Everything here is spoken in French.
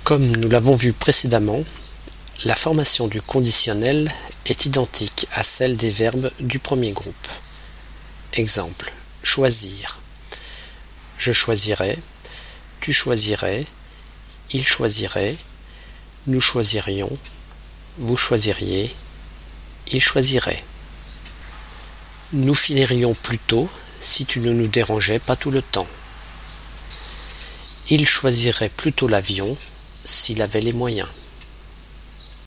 Comme nous l'avons vu précédemment, la formation du conditionnel est identique à celle des verbes du premier groupe. Exemple, choisir. Je choisirais, tu choisirais, il choisirait, nous choisirions, vous choisiriez, il choisirait. Nous finirions plus tôt si tu ne nous dérangeais pas tout le temps. Il choisirait plutôt l'avion s'il avait les moyens.